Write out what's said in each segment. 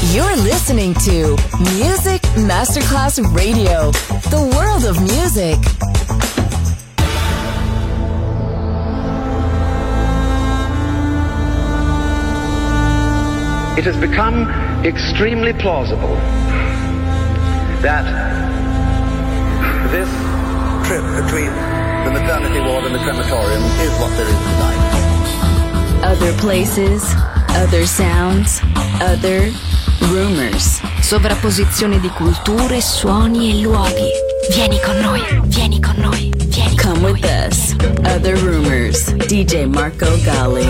You're listening to Music Masterclass Radio, the world of music. It has become extremely plausible that this trip between the maternity ward and the crematorium is what there is tonight. Other places, other sounds, other rumors. Sovrapposizione di culture, suoni e luoghi. Vieni con noi, vieni con noi, vieni con Come noi. with us. Other rumors. DJ Marco Gally.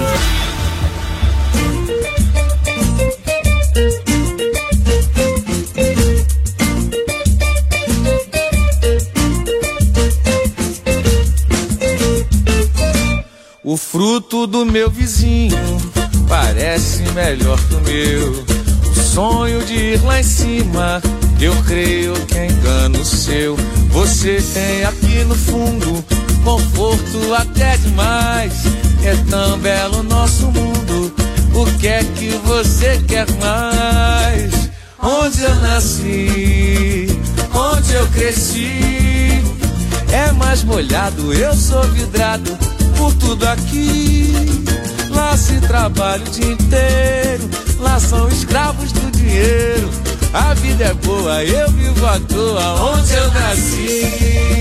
O fruto do meu vizinho parece melhor que o meu. O sonho de ir lá em cima, eu creio que é engano seu. Você tem aqui no fundo conforto até demais. É tão belo o nosso mundo, o que é que você quer mais? Onde eu nasci, onde eu cresci, é mais molhado, eu sou vidrado por tudo aqui. Lá se trabalha o dia inteiro, lá são escravos do dinheiro. A vida é boa, eu vivo à toa onde eu nasci.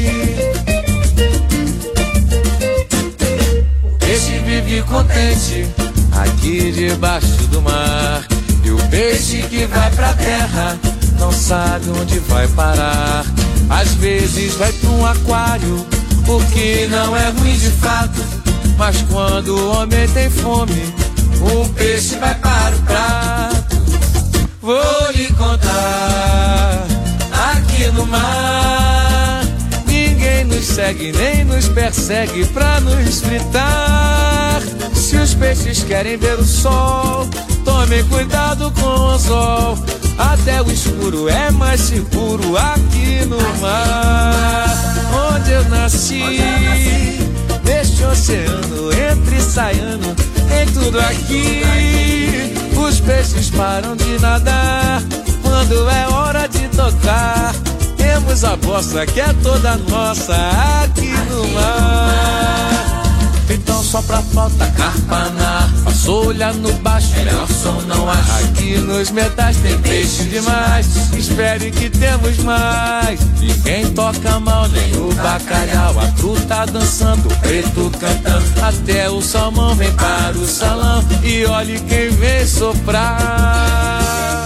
O peixe vive contente aqui debaixo do mar, e o peixe que vai pra terra não sabe onde vai parar. Às vezes vai pra um aquário, o que não é ruim de fato, mas quando o homem tem fome, o peixe vai para o prato. Vou lhe contar, aqui no mar, ninguém nos segue nem nos persegue pra nos fritar. Se os peixes querem ver o sol, tomem cuidado com o anzol. Até o escuro é mais seguro aqui no mar. Onde eu nasci, neste oceano, entre e saindo, em tudo aqui. Os peixes param de nadar quando é hora de tocar. Temos a bossa que é toda nossa aqui no mar. Então só pra falta carpanar, vassoura no baixo, melhor som não acho. Aqui nos metais tem peixe demais, espere que temos mais. Ninguém toca mal, nem o bacalhau, a cru tá dançando, o preto cantando. Até o salmão vem para o salão, e olhe quem vem soprar.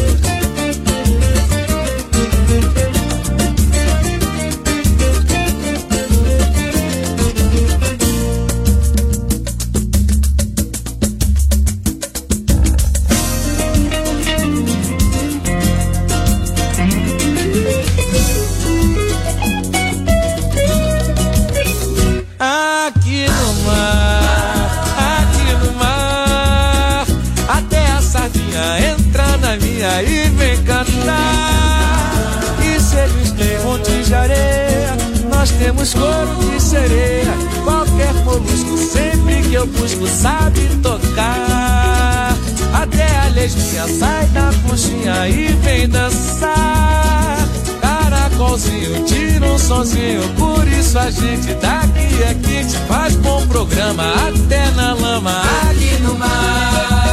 E vem cantar. E se eles têm monte de areia, nós temos couro de sereia. Qualquer molusco, sempre que eu busco, sabe tocar. Até a lesbinha sai da conchinha e vem dançar. Caracolzinho tira um sonzinho, por isso a gente daqui é quente. Faz bom programa até na lama ali no mar.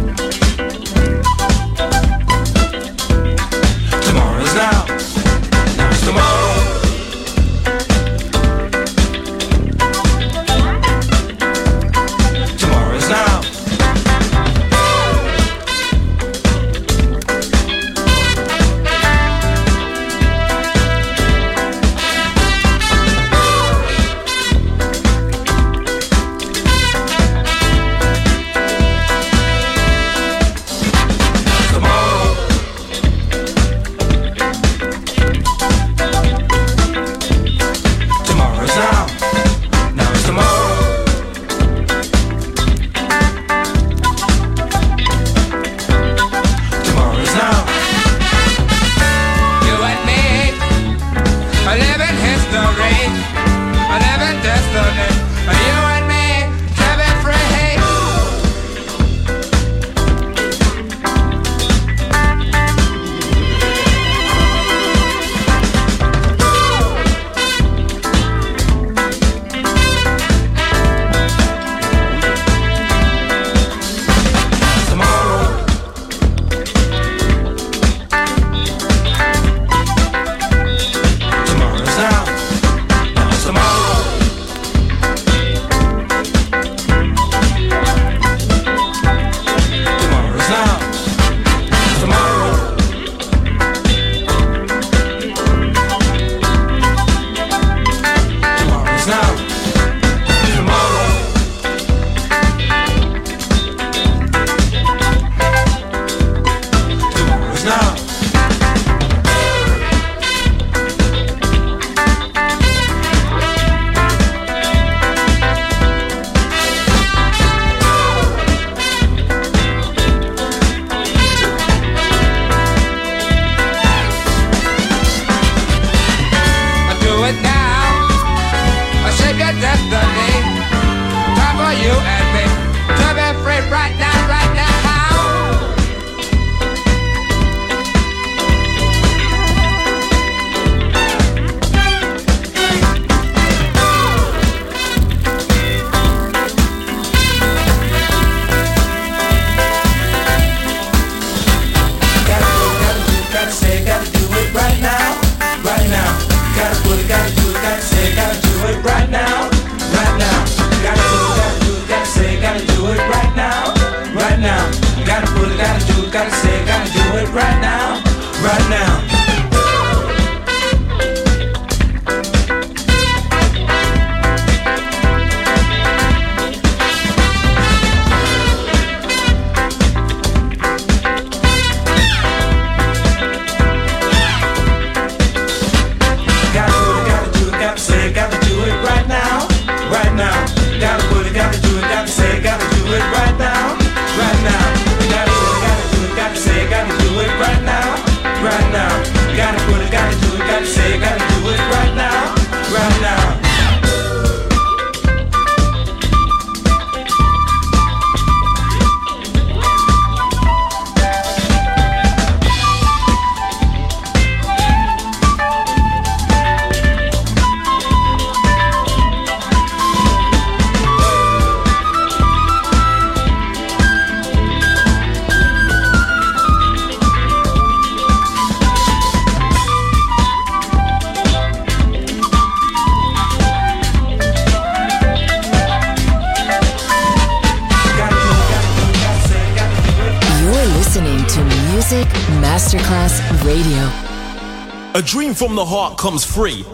Tomorrow's now. it right now, right now. Masterclass Radio. A dream from the heart comes free.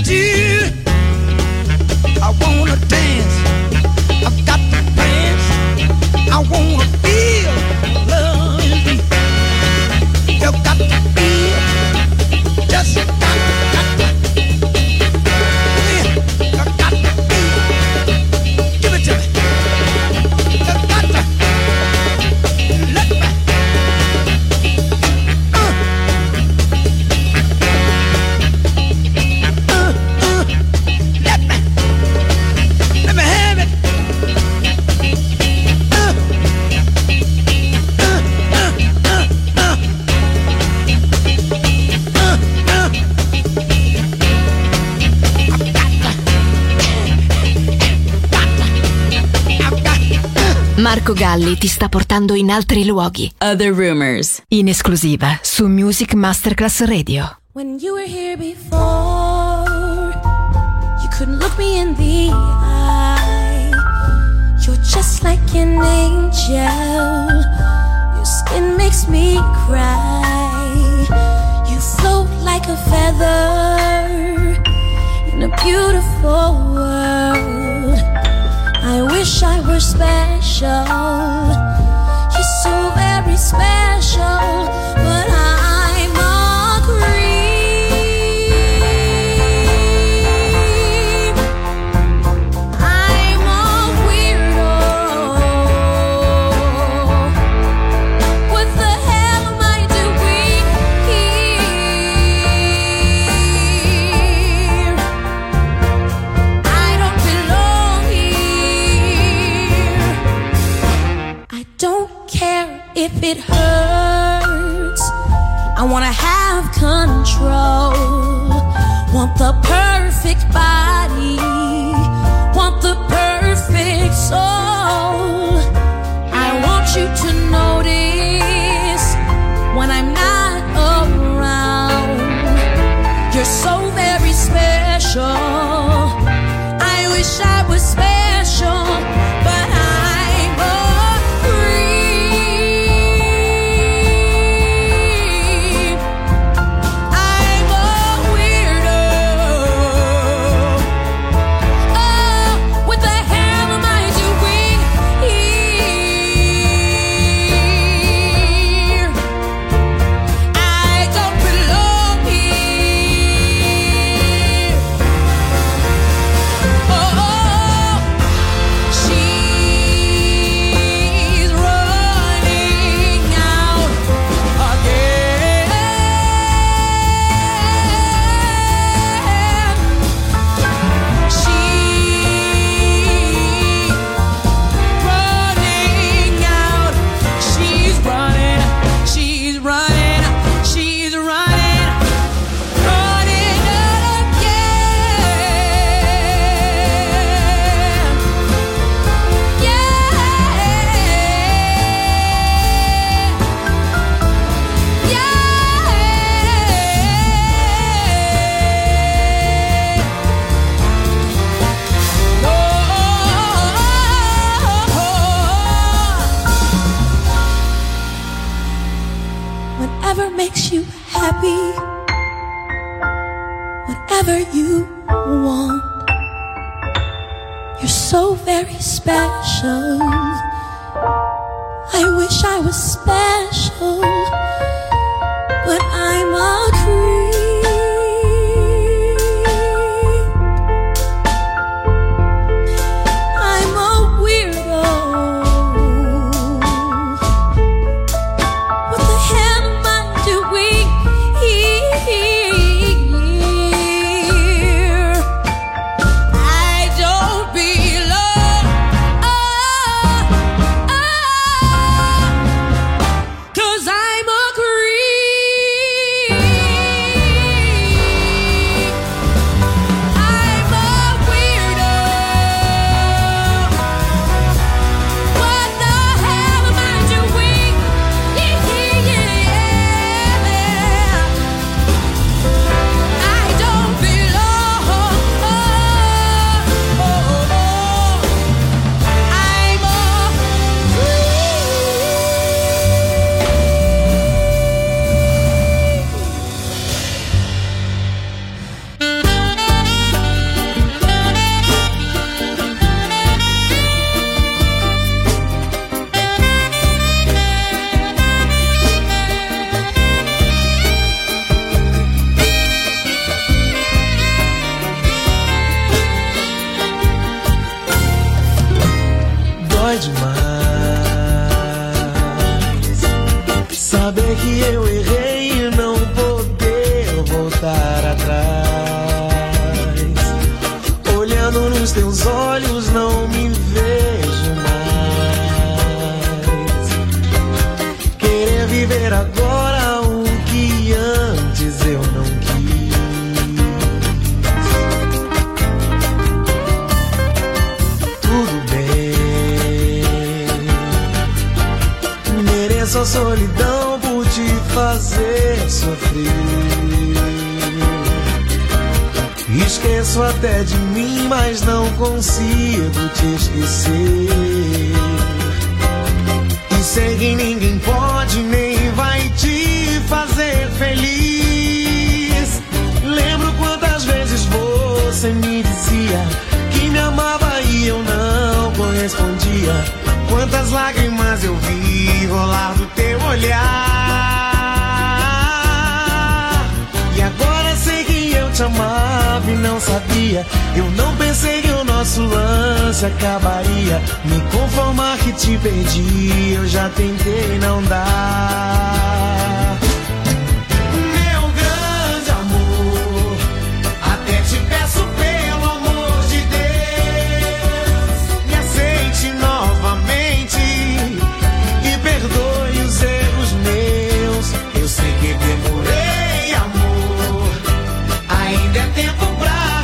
do. I wanna dance. I've got to dance. I wanna feel love is me. You got to feel. Just got to. Marco Galli ti sta portando in altri luoghi. Other Rumors, in esclusiva su Music Masterclass Radio. When you were here before, you couldn't look me in the eye. You're just like an angel. Your skin makes me cry. You float like a feather in a beautiful world. I wish I were special. You're so very special, but I'm a creep. I'm a weirdo. What the hell am I doing here? I don't belong here. I don't care if it hurts. I wanna have control. Want the perfect body. Want the perfect soul. I want you to notice when I'm not around. You're so very special. I wish I was special, but I'm a creep. I'm a weirdo. Oh, what the hell am I doing here? I don't belong here. Oh, she's running out again. She's running out. She's running. She's running. Running again. Whatever makes you happy, whatever you want, you're so very special. I wish I was special, but I'm a creep. I'm a weirdo. What the hell am I doing here? I don't belong. 'Cause I'm a creep. Mereço a solidão por te fazer sofrer. Esqueço até de mim, mas não consigo te esquecer. E sei que ninguém pode nem vai te fazer feliz. Lembro quantas vezes você me dizia que me amava e eu não correspondia. Quantas lágrimas eu vi rolar do teu olhar. E agora sei que eu te amava e não sabia. Eu não pensei que o nosso lance acabaria. Me conformar que te perdi, eu já tentei, não dá. Meu grande amor, até te peço pelo amor de Deus, me aceite novamente e perdoe os erros meus. Eu sei que demorei, amor, ainda é tempo pra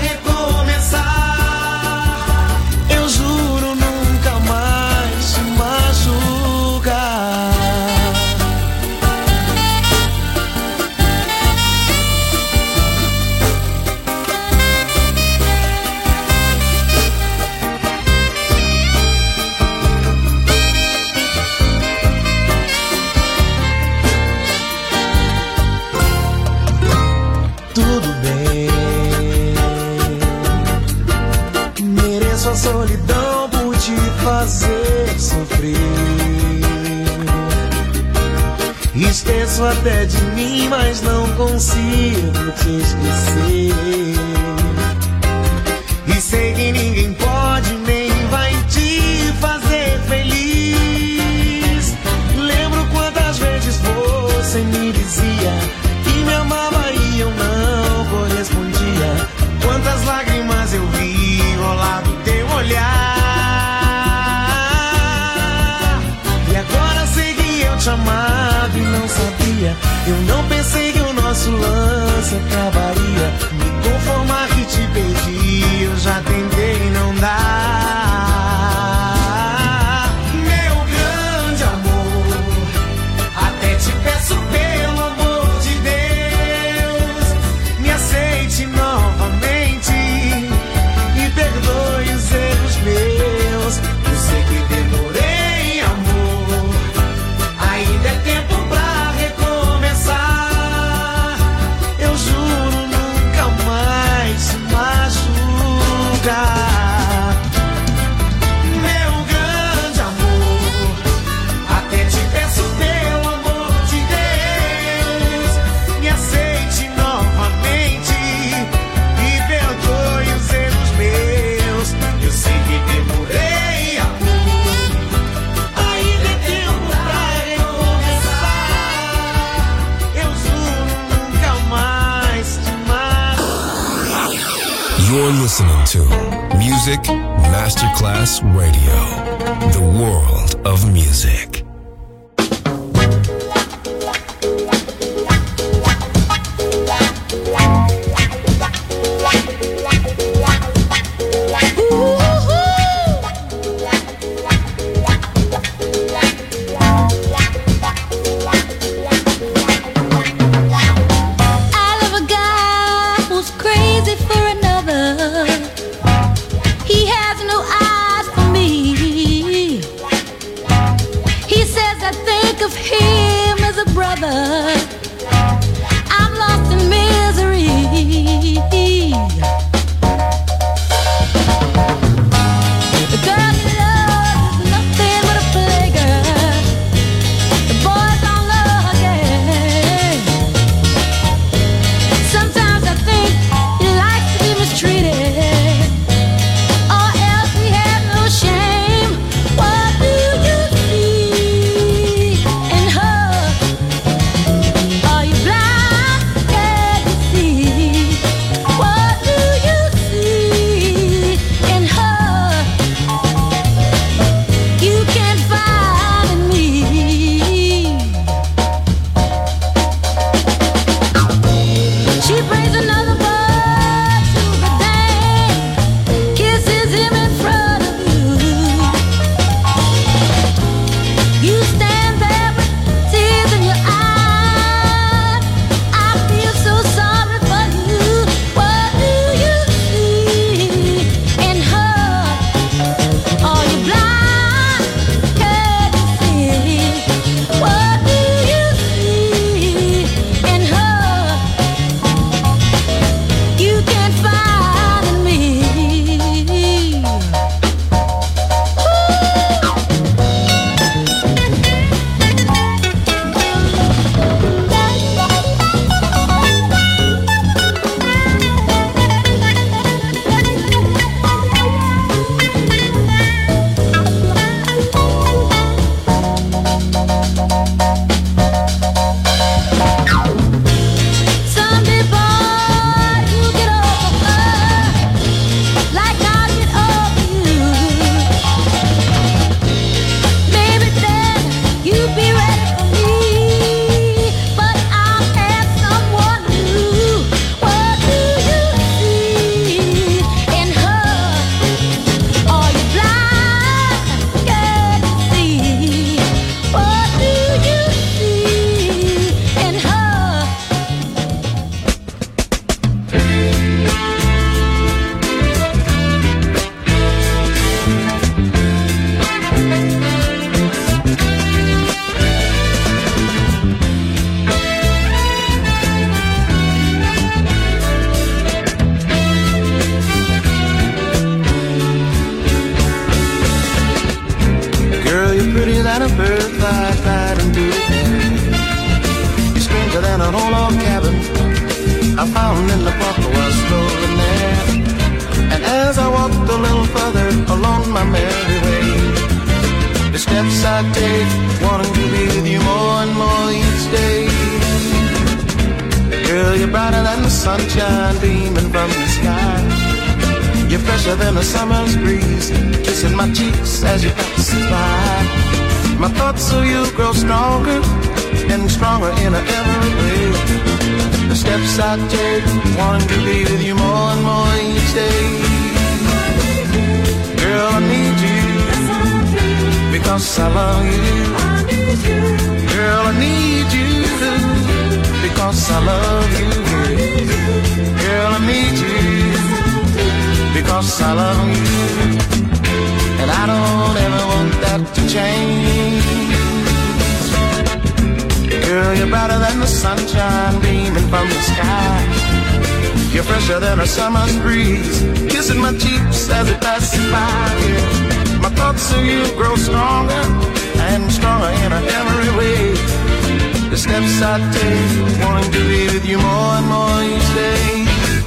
recomeçar. Eu juro nunca mais te machucar. Tudo bem, mereço a solidão por te fazer sofrer. Esqueço até de mim, mas não consigo te esquecer. E sei que ninguém pode nem vai te fazer feliz. Lembro quantas vezes você me dizia que me amava e eu não correspondia. Quantas lágrimas eu vi rolar do teu olhar. E agora sei que eu te amava e não sabia. Eu não pensei que o nosso lance acabaria. Me conformar que te perdi, eu já tentei, não dá. Meu grande amor, até te peço pelo amor de Deus, me aceite novamente e perdoe os erros meus. Eu sei que demorei, amor, ainda é tempo pra recomeçar. Eu juro nunca mais te machucar. Meu grande amor, até te peço pelo amor de Deus, me aceite novamente e perdoe os erros meus. Eu sei que demorei, amor, ainda é tempo pra recomeçar. Eu juro nunca mais te machucar. You're listening to Music Masterclass Radio, the world of music. I love a guy who's crazy for another. He has no eyes for me. He says I think of him as a brother. I'm lost in misery. The girl he loves is nothing but a playgirl. The boys all love again. Sometimes I think he likes to be mistreated, or else he has no shame. What do you see in her? steps I take, wanting to be with you more and more each day. Girl, you're brighter than the sunshine beaming from the sky. You're fresher than a summer's breeze, kissing my cheeks as you pass by. My thoughts of you grow stronger and stronger in every way. The steps I take, wanting to be with you more and more each day. Girl, I need you, because I love you. Girl, I need you, because I love you. Girl, I need you, because I love you. And I don't ever want that to change. Girl, you're brighter than the sunshine beaming from the sky. You're fresher than a summer's breeze, kissing my cheeks as it passes by. Yeah. My thoughts of you grow stronger and stronger in every way. The steps I take, wanting to be with you more and more each day.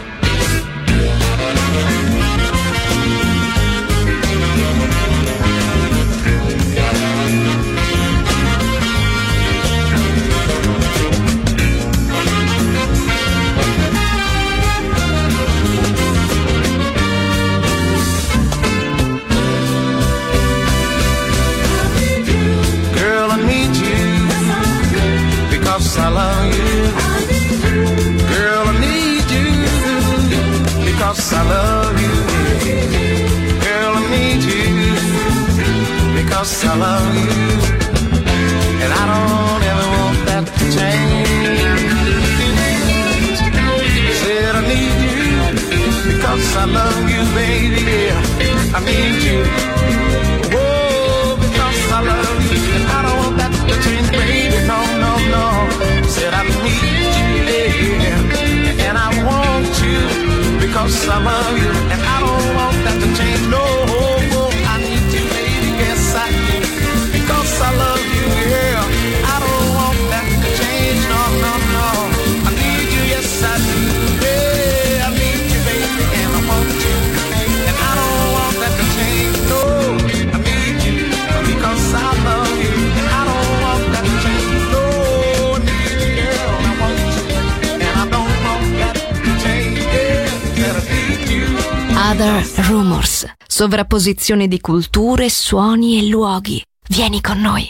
I love you. Girl, I need you, because I love you. Girl, I need you, because I love you. And I don't ever want that to change. Said I need you, because I love you, baby. Yeah, I need you. Whoa, because I love you. And I don't want that to change, baby. No, no, no. Said I need you, yeah, and I want you, because I love you, and I don't want that to change, no, I need you, baby, yes I do, because I love you, yeah, I don't want that to change, no, no, no, I need you, yes I do, yeah, I need you, baby, and I want you, and I don't want that to change, no, I need you, because I love you, and I don't want that to change, no. Other Rumors, sovrapposizione di culture, suoni e luoghi. Vieni con noi.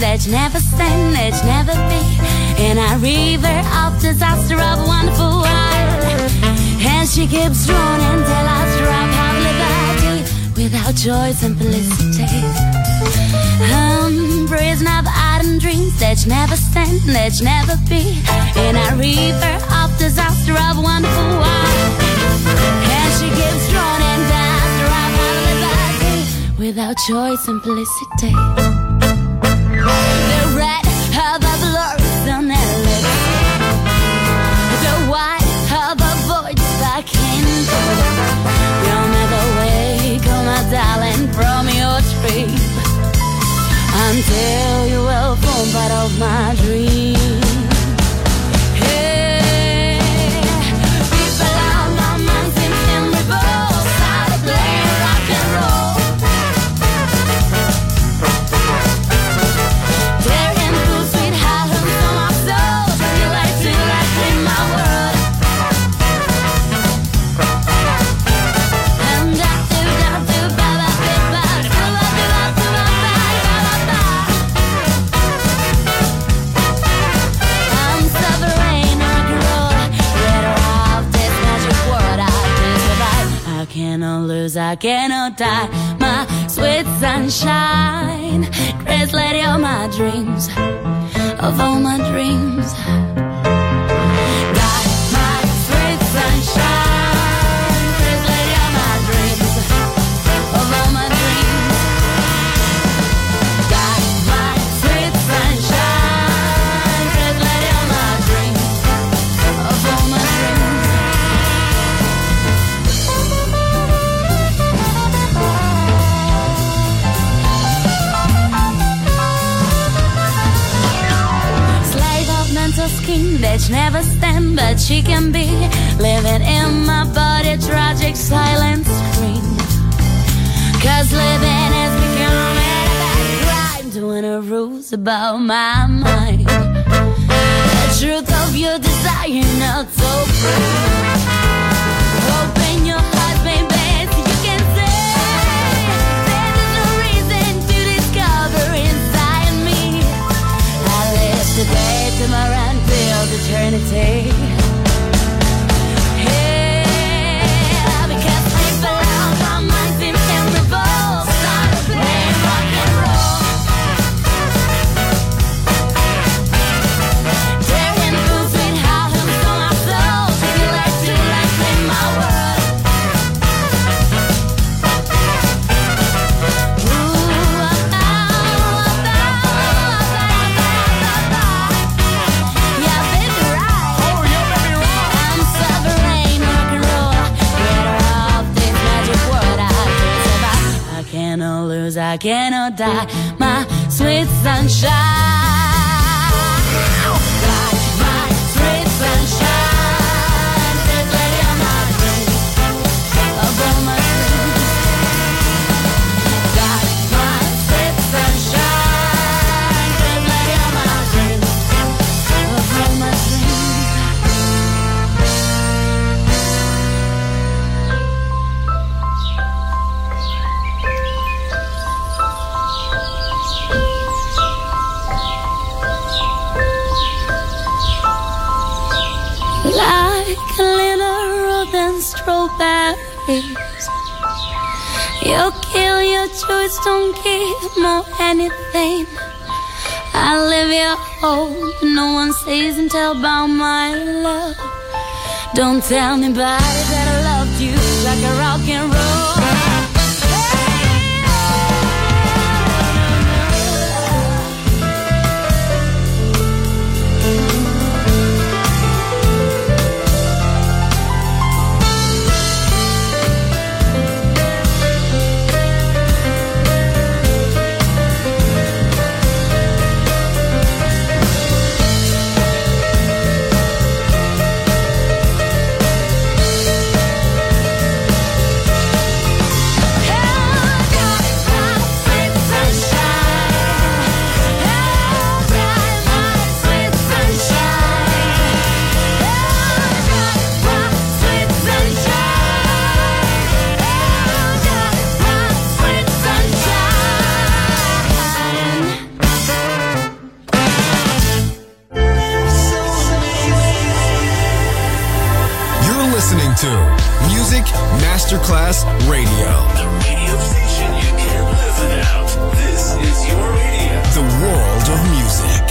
that you never stand, that you never be. In a river of disaster of a wonderful world. And she keeps drowning till I drop out liberty without joy, simplicity. Prison of ardent dreams that you never stand, that you never be. In a river of disaster of a wonderful world. And she keeps drowning till I drop out liberty without joy, simplicity. The red of a blurs on her lips, the white of a voice I can't do. You'll never wake, oh my darling, from your sleep until you will form part of my dream. Hey, people out my mind seem in revolt, started playing rock and roll. Tearing through sweet high hooks on my soul, you like to in my world. And I do, ba ba ba ba, do ba do ba do ba ba ba ba. I'm suffering rock and roll, get her off this magic world I can survive. I cannot lose, I cannot die. My sweet sunshine, grace lady of my dreams, of all my dreams. God, my sweet sunshine, grace lady of my dreams, of all my dreams. God, my sweet sunshine, grace lady of my dreams, of all my dreams. Slave of mental scheme that you never stand, but she can be living in my body, tragic silent scream. Cause living is becoming a bad crime, doing a ruse about my mind. The truth of your desire not so free. Open your heart, baby, so you can say there's no reason to discover inside me. I live today, tomorrow, until eternity. Yeah, because people out my mind seem in revolt, started playing rock and roll. Tearing through sweet high hooks on my soul, you like to in my world. Yeah, baby, right. I'm suffering rock and roll, get her off this magic world I can survive. I cannot lose, I cannot die. My sweet sunshine. God, my sweet sunshine, this lady of my dreams, of all my dreams. God, my sweet sunshine, this lady of my dreams, of all my dreams. Like a little robin strawberries, you kill your choice, don't give more anything. I live your hope, no one says and tell about my love. Don't tell me about it, that I loved you like a rock and roll. Masterclass Radio. The radio station you can't live without. This is your radio. The world of music.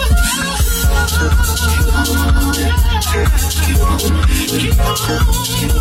Keep on.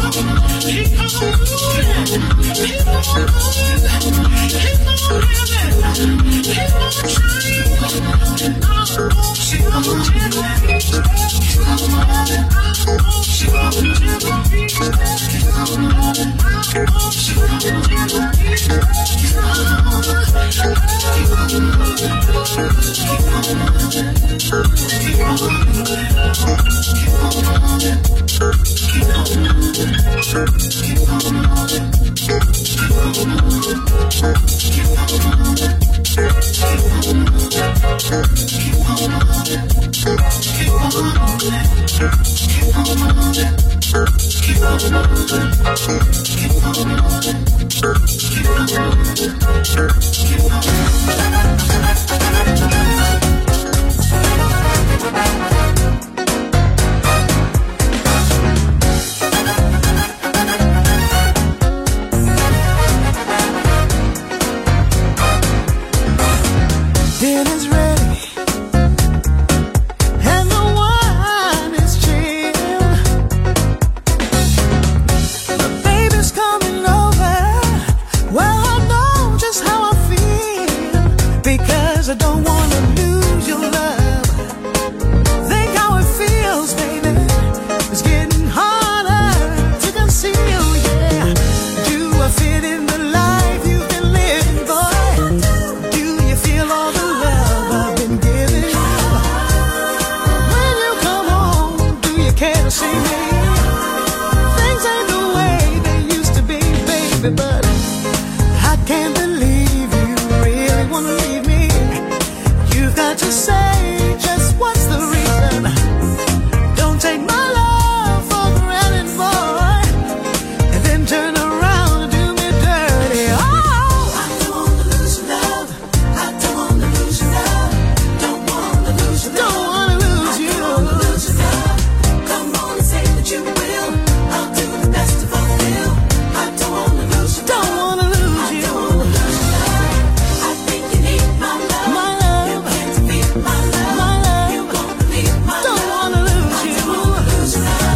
I don't wanna lose your love. Think how it feels, baby. It's getting harder to conceal, yeah. Do I fit in the life you've been living, boy? Do you feel all the love I've been giving you? When you come home, do you care to see me? Things ain't the way they used to be, baby, but I can't believe you really wanna leave me. You've got to say just what's the reason. Don't take my love for granted, boy, and then turn around and do me dirty. Oh, I don't wanna lose your love. I don't wanna lose your love. Don't wanna lose your love. Don't wanna lose you. I don't wanna lose your love. Come on and say that you will. I'll do the best to fulfill. I don't wanna lose your love. Don't wanna lose you. I don't wanna lose your love. I think you need my love. My love. You can't defeat my love. My love. You won't believe my love. Don't wanna lose you. I don't wanna lose your love.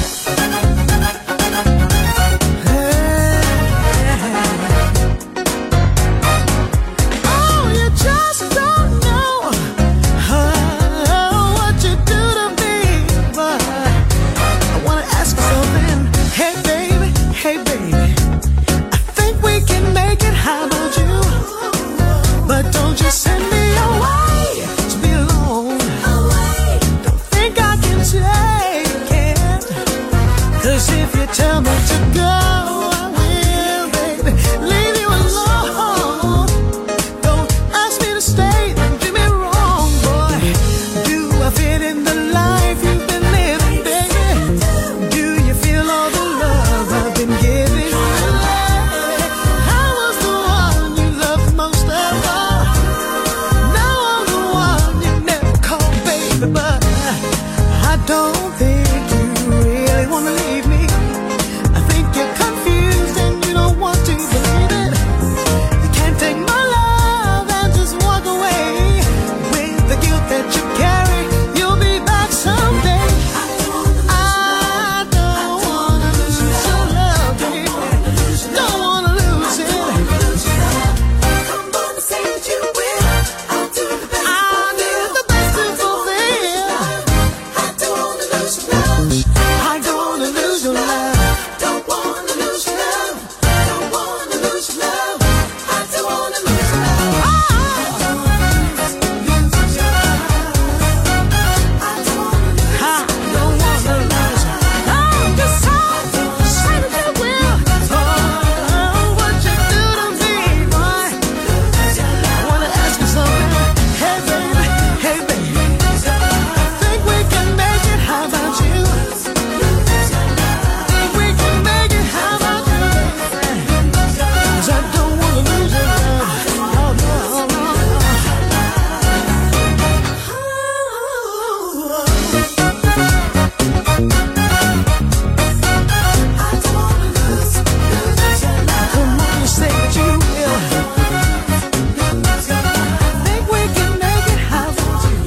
Oh, you just don't know what you do to me, but I wanna ask you something. Hey baby, I think we can make it. How about you? But don't you send me away to be alone. Don't think I can take it. 'Cause if you tell me to go, I will, baby. Leave you alone. Don't ask me to stay, don't do me wrong, boy. Do I fit in the life you've been living, baby? Do you feel all the love I've been giving you? I was the one you loved most of all. Now I'm the one you never called baby, but I don't think you really wanna leave me. I think you're confused and you don't want to believe it. You can't take my love and just walk away with the guilt that you carry. You'll be back someday. I don't wanna lose your love, baby. Don't wanna lose it. Come on and say that you will. I'll do the best. I'll do the best to fulfill. I don't wanna lose your love. I don't wanna lose your love. Don't wanna lose your love. Don't wanna lose your love. I don't wanna lose your love. I don't wanna lose your love. I don't wanna lose. I don't wanna lose. Oh, just say that you will. Oh, what you do to me, boy. I wanna ask you something. Hey baby, I think we can make it. How about you? Think we can make it. How about you? 'Cause I don't wanna lose your love. Oh, no. I don't wanna lose your love. Come on and say that you will. Think we can make it. How about you?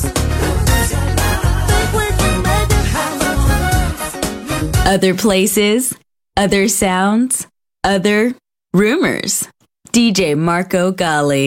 Think we can make it. How about you? Other places, other sounds, other rumors. DJ Marco Gali.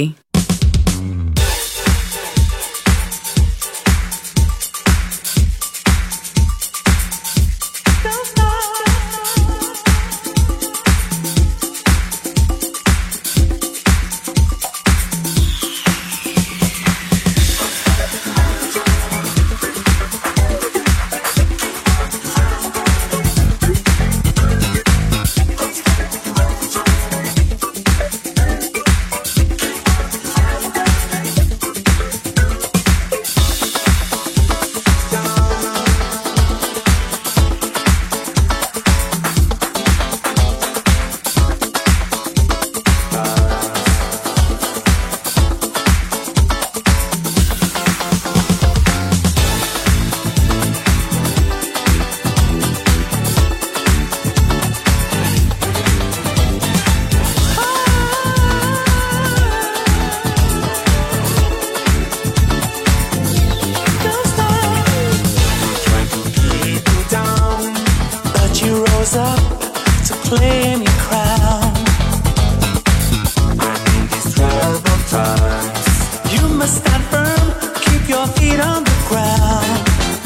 claim your crown. And in these troubled times, you stand firm, keep your feet on the ground.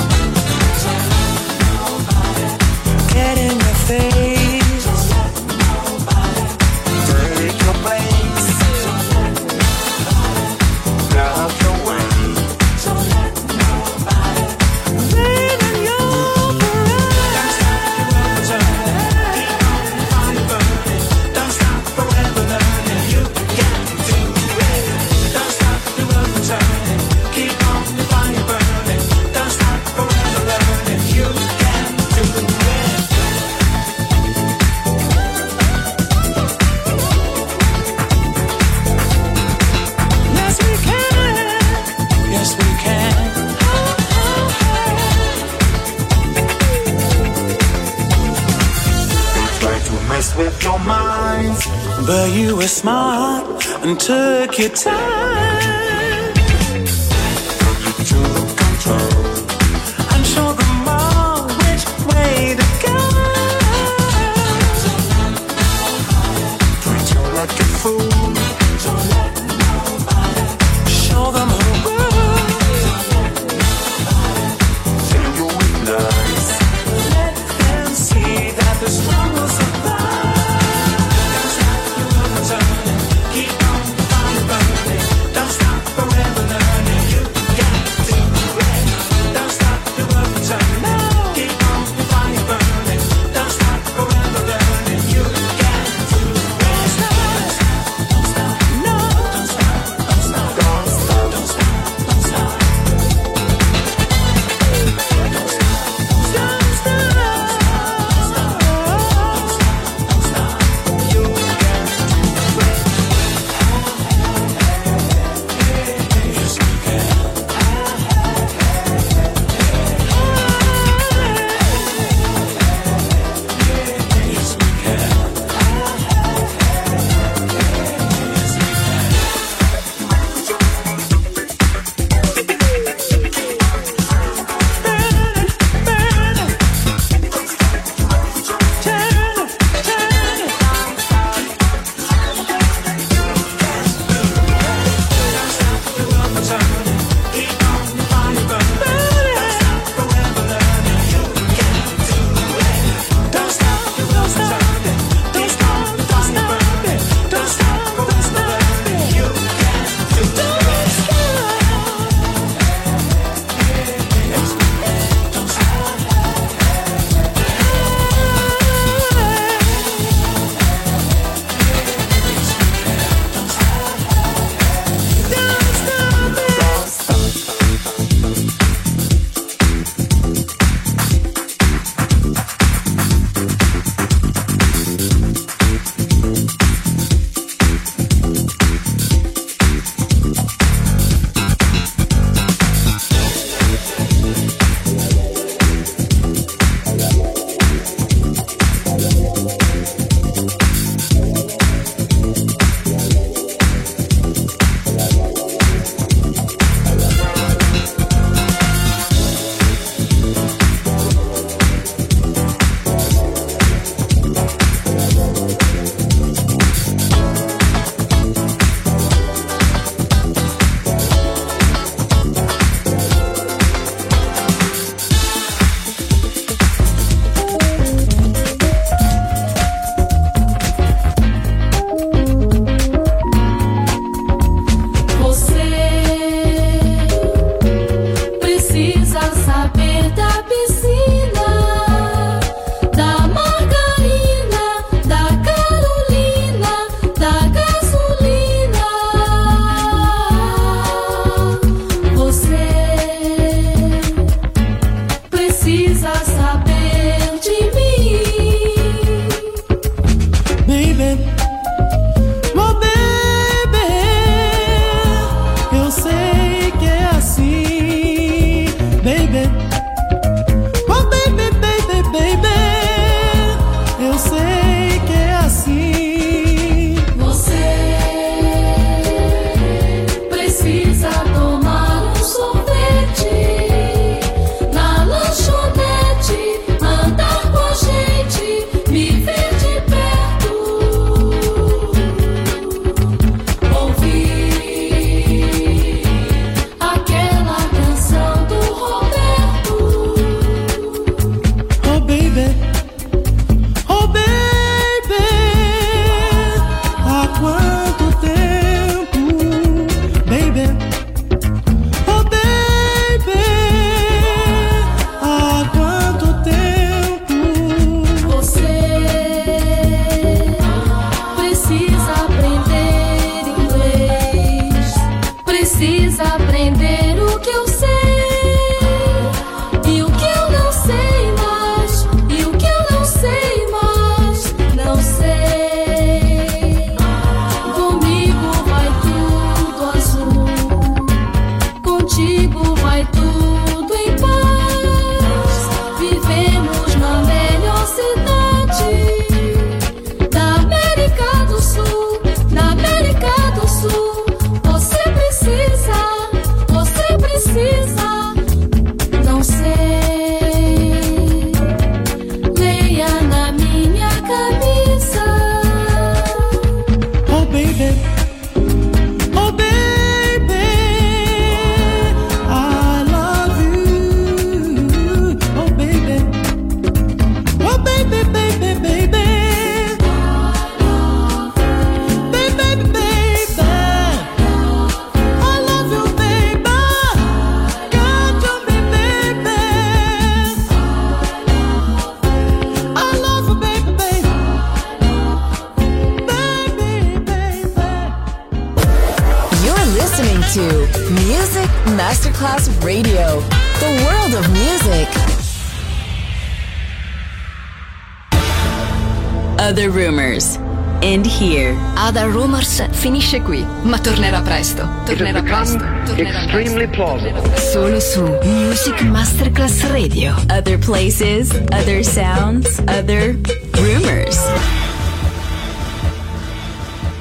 Get in your face, take your place, love your way. Rain in your parade. Keep on the fire burning, don't stop forever learning. You can do it. Don't stop the world from turning. Keep on the fire burning, don't stop forever learning. You can do it. Yes, we can. Yes, we can. Try to mess with your mind, but you were smart and took your time. To control and show them all which way to go. Treat you like a fool. Show them who rules. Take your weakness. Let them see that the strong will survive. Don't stop your love turning. Keep on the fire burning. aprender o que eu sei e o que eu não sei mais, e o que eu não sei mais, não sei. Comigo vai tudo azul, contigo vai tudo em paz. Vivemos na melhor cidade da América do Sul, da América do Sul. Você precisa, não sei. Leia na minha camisa. Oh baby, I love you. Oh baby, baby, baby, baby. I love you, baby. Can't you be, baby? I love you, baby, baby. Baby, baby. You're listening to Music Masterclass Radio, the world of music. Other Rumors. End here. Other Rumors finisce qui, ma tornerà presto. Tornerà presto. Extremely plausible. Solo su Music Masterclass Radio. Other places, other sounds, other rumors.